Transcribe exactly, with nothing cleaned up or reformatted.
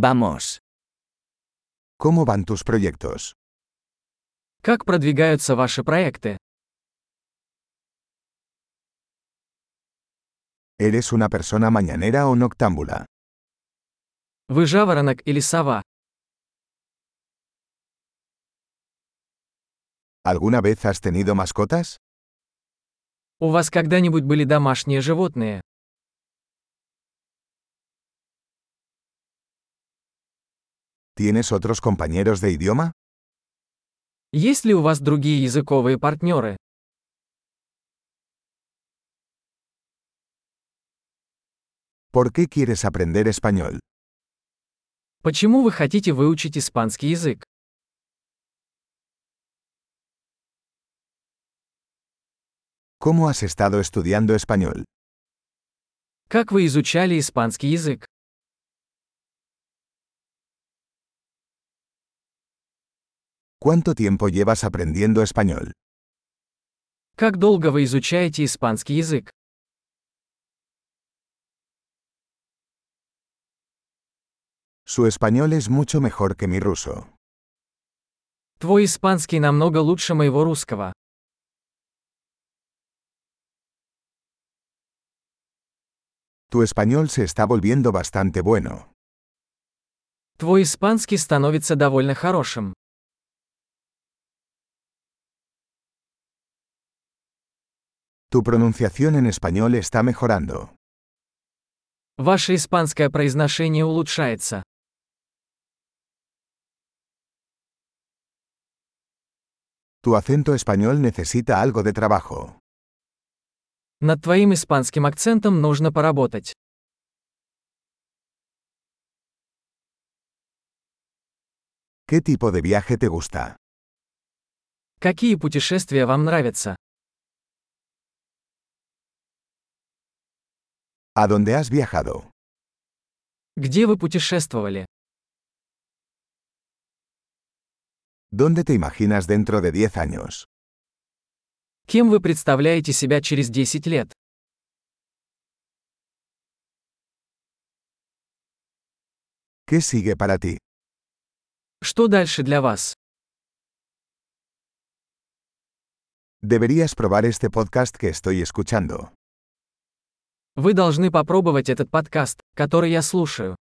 Vamos. ¿Cómo van tus proyectos? Как продвигаются ваши проекты? ¿Eres una persona mañanera o noctámbula? Вы жаворонок или сова? ¿Alguna vez has tenido mascotas? У вас когда-нибудь были домашние животные? ¿Tienes otros compañeros de idioma? Есть ли у вас другие языковые партнеры? ¿Por qué quieres aprender español? Почему вы хотите выучить испанский язык? ¿Cómo has estado estudiando español? Как вы изучали испанский язык? ¿Cuánto tiempo llevas aprendiendo español? Как долго вы изучаете испанский язык? Su español es mucho mejor que mi ruso. Твой испанский намного лучше моего русского. Tu español se está volviendo bastante bueno. Твой испанский становится довольно хорошим. Tu pronunciación en español está mejorando. Ваше испанское произношение улучшается. Tu acento español necesita algo de trabajo. Над твоим испанским акцентом нужно поработать. ¿Qué tipo de viaje te gusta? Какие путешествия вам нравятся? ¿A dónde has viajado? Где вы путешествовали? ¿Dónde te imaginas dentro de diez años? Кем вы представляете себя через десять лет? ¿Qué sigue para ti? Что дальше для вас? Deberías probar este podcast que estoy escuchando. Вы должны попробовать этот подкаст, который я слушаю.